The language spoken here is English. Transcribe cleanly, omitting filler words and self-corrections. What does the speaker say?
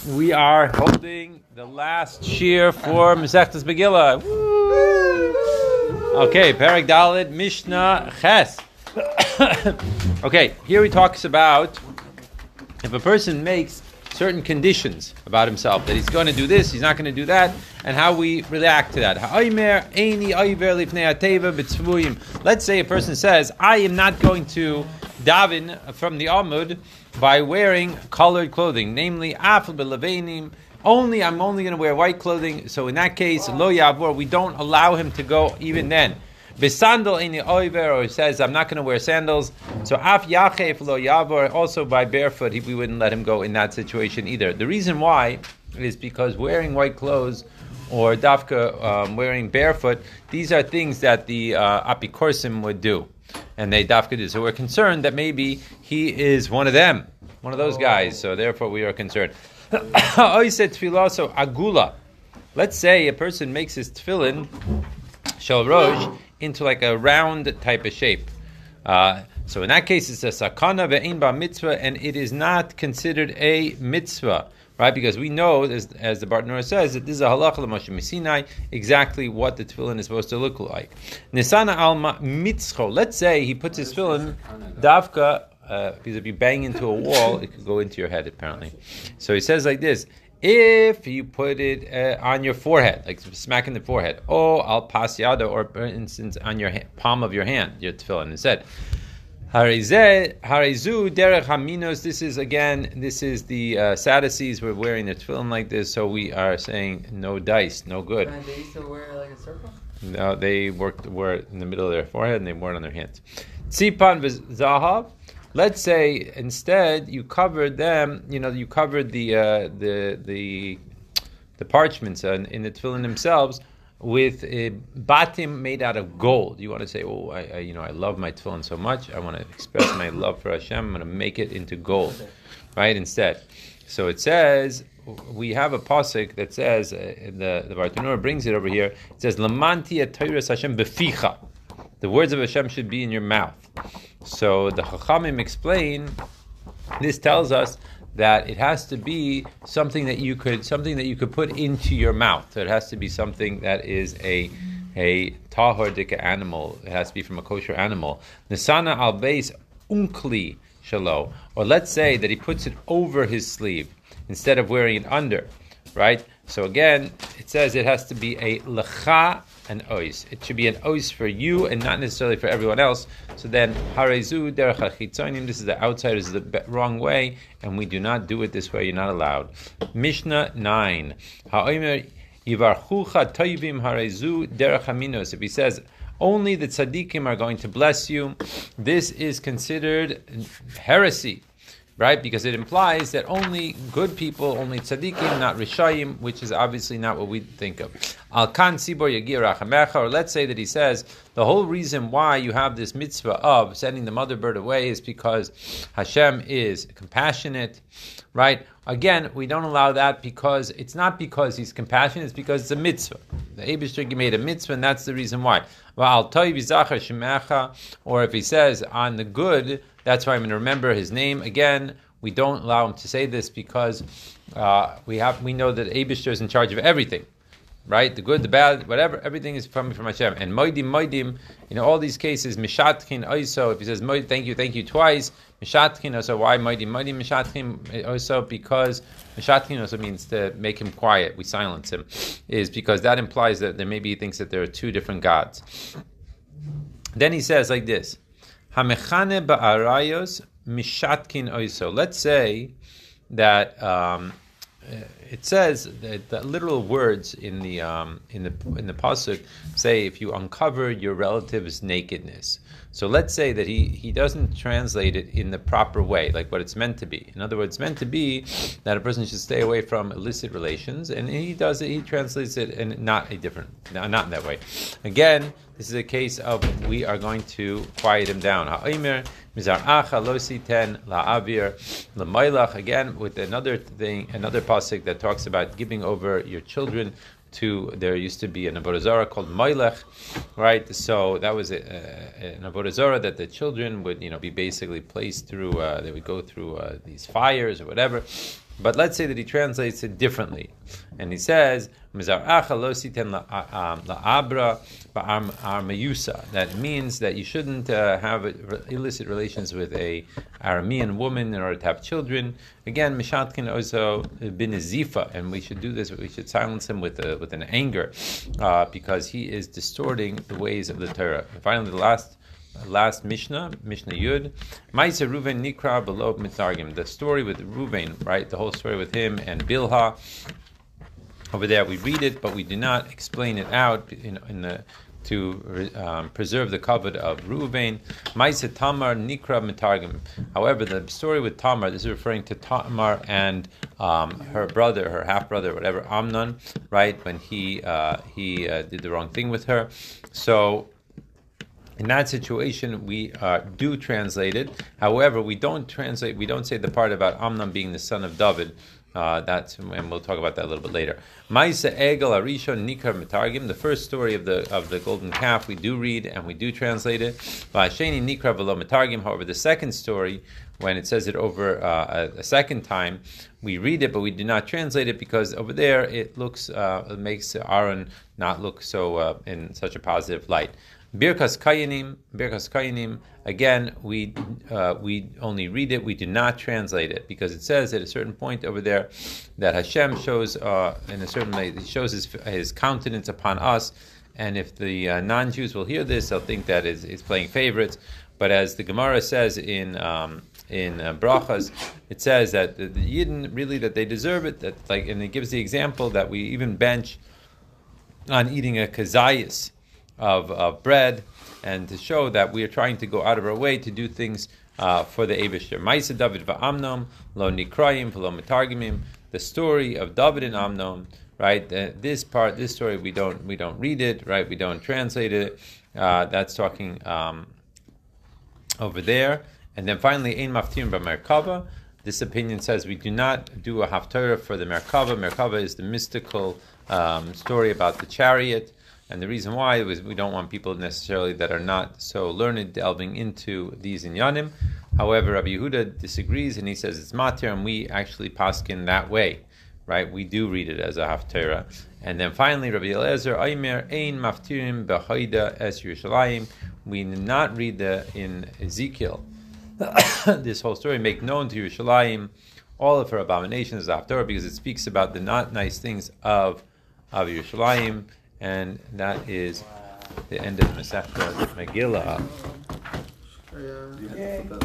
We are holding the last shir for Masechtas Megillah. Okay, Perek Daled, Mishnah Ches. Okay, here he talks about if a person makes certain conditions about himself, that he's going to do this, he's not going to do that, and how we react to that. Let's say a person says, I am not going to daven from the Amud by wearing colored clothing, namely, I'm only going to wear white clothing. So in that case, lo yavor, we don't allow him to go even then. Besandal eini oiver, or he says, I'm not going to wear sandals. So af yachef lo yavor, also by barefoot, we wouldn't let him go in that situation either. The reason why is because wearing white clothes or dafka wearing barefoot, these are things that the apikorsim would do. And they dafka do. So we're concerned that maybe he is one of them, one of those guys. So therefore we are concerned. So agula. Let's say a person makes his tefillin shel rosh into like a round type of shape. So in that case, it's a sakana ve'ein ba mitzvah, and it is not considered a mitzvah, right? Because we know, as the Bartanura says, that this is a halacha l'Moshe Missinai, exactly what the tefillin is supposed to look like. Nisana alma mitzcho. Let's say he puts his tefillin davka, because if you bang into a wall, it could go into your head, apparently. So he says like this: if you put it on your forehead, like smacking the forehead, al pas yada, or for instance on your palm of your hand, your tefillin instead. Harizu derech haminos. This is the Sadducees were wearing their tefillin like this, so we are saying no dice, no good. And they used to wear like a circle? No, they wore it in the middle of their forehead and they wore it on their hands. Tzipan v'zahav. Let's say instead you covered them. You covered the parchments in the tefillin themselves with a batim made out of gold. You want to say, I love my tefillin so much. I want to express my love for Hashem. I'm going to make it into gold, right? Instead, so it says we have a pasuk that says the Bartanura brings it over here. It says Lamanti Torah Hashem beficha. The words of Hashem should be in your mouth. So the Chachamim explain. This tells us that it has to be something that you could put into your mouth. So it has to be something that is a tahor dika animal. It has to be from a kosher animal. Nisana al beis unkli shalo. Or let's say that he puts it over his sleeve instead of wearing it under, right? So again, it says it has to be a lecha and ois. It should be an ois for you and not necessarily for everyone else. So then, harezu derech hachitzonim. This is the outside, this is the wrong way, and we do not do it this way. You're not allowed. Mishnah 9. Ha'omer yivarchucha toivim harezu derech haminos. If he says only the tzaddikim are going to bless you, this is considered heresy. Right, because it implies that only good people, only tzaddikim, not rishayim, which is obviously not what we think of. Al kan sibor yagir rachamecha, or let's say that he says the whole reason why you have this mitzvah of sending the mother bird away is because Hashem is compassionate. Right? Again, we don't allow that because it's not because he's compassionate; it's because it's a mitzvah. The Eibishter made a mitzvah, and that's the reason why. Or if he says on the good, that's why I'm going to remember his name. Again, we don't allow him to say this because we know that Eibishter is in charge of everything, right? The good, the bad, whatever, everything is coming from Hashem. And moidim, in all these cases, mishatkin oiso. If he says thank you twice, mishatkin oiso. Why moidim mishatkin oiso? Because mishatkin also means to make him quiet. We silence him, is because that implies that maybe he thinks that there are two different gods. Then he says like this. Hamechane ba'arayos mishatkin oiso. Let's say that it says that the literal words in the pasuk say if you uncover your relative's nakedness. So let's say that he doesn't translate it in the proper way, like what it's meant to be. In other words, it's meant to be that a person should stay away from illicit relations, and he does it. He translates it in not in that way. Again, this is a case of we are going to quiet him down. Ha'omer mizar acha lo siten la'avir l'maylach. Again, with another pasuk that talks about giving over your children there used to be an avodah zarah called Moilech, right? So that was an avodah zarah that the children would, be basically placed through. They would go through these fires or whatever, But let's say that he translates it differently, and he says, "Mizaracha lo siten la'abra ba'ar meyusa." That means that you shouldn't have illicit relations with a Aramean woman in order to have children. Again, mishatkin also bin zifa, and we should do this. We should silence him with an anger, because he is distorting the ways of the Torah. And finally, the last Mishnah Yud, Ma'aser Ruven Nikra below Mitargim. The story with Ruven, right? The whole story with him and Bilha. Over there, we read it, but we do not explain it out to preserve the covet of Ruvain. Ma'aser Tamar Nikra Mitargim. However, the story with Tamar, this is referring to Tamar and her brother, her half brother, whatever, Amnon, right? When he did the wrong thing with her, so. In that situation, we do translate it. However, we don't translate. We don't say the part about Amnon being the son of David. And we'll talk about that a little bit later. Ma'aser Egel Arishon Nikar Mitargim. The first story of the golden calf we do read and we do translate it. Va'asheni Nikra V'lo Mitargim. However, the second story, when it says it over a second time, we read it, but we do not translate it because over there it makes Aaron not look so in such a positive light. Birkas Kayanim. Again, we only read it. We do not translate it because it says at a certain point over there that Hashem shows in a certain way, He shows His countenance upon us, and if the non-Jews will hear this, they'll think that is playing favorites. But as the Gemara says in Brachas, it says that the Yidden really that they deserve it. And it gives the example that we even bench on eating a kazayas of bread, and to show that we are trying to go out of our way to do things for the Eibishter. Ma'aser David va'Amnon lo nikrayim v'lo mitargimim. The story of David and Amnon, right? This story we don't read it, right? We don't translate it. That's talking over there. And then finally, ein maftirim b'merkava. This opinion says we do not do a haftarah for the Merkava. Merkava is the mystical story about the chariot. And the reason why is we don't want people necessarily that are not so learned delving into these inyanim. However, Rabbi Yehuda disagrees, and he says it's matir, and we actually paskin that way, right? We do read it as a haftarah. And then finally, Rabbi Eliezer, Aimer ein maftirim b'chaida es Yerushalayim. We do not read in Ezekiel this whole story, make known to Yerushalayim all of her abominations of haftarah, because it speaks about the not nice things of Yerushalayim. And that is the end of the Masechta Megillah.